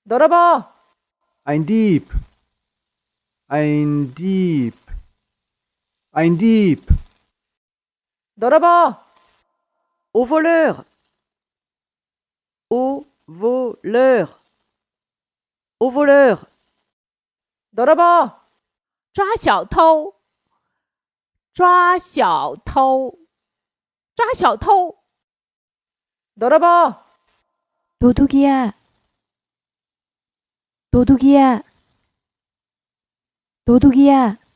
ضرب. Ein Dieb. Ein Dieb. Ein Dieb. ضرب. Au voleur. Au voleur. Au voleur. ضرب. 抓小偷，抓小偷，抓小偷。 ضرب. 도둑이야. 도둑이야. 도둑이야.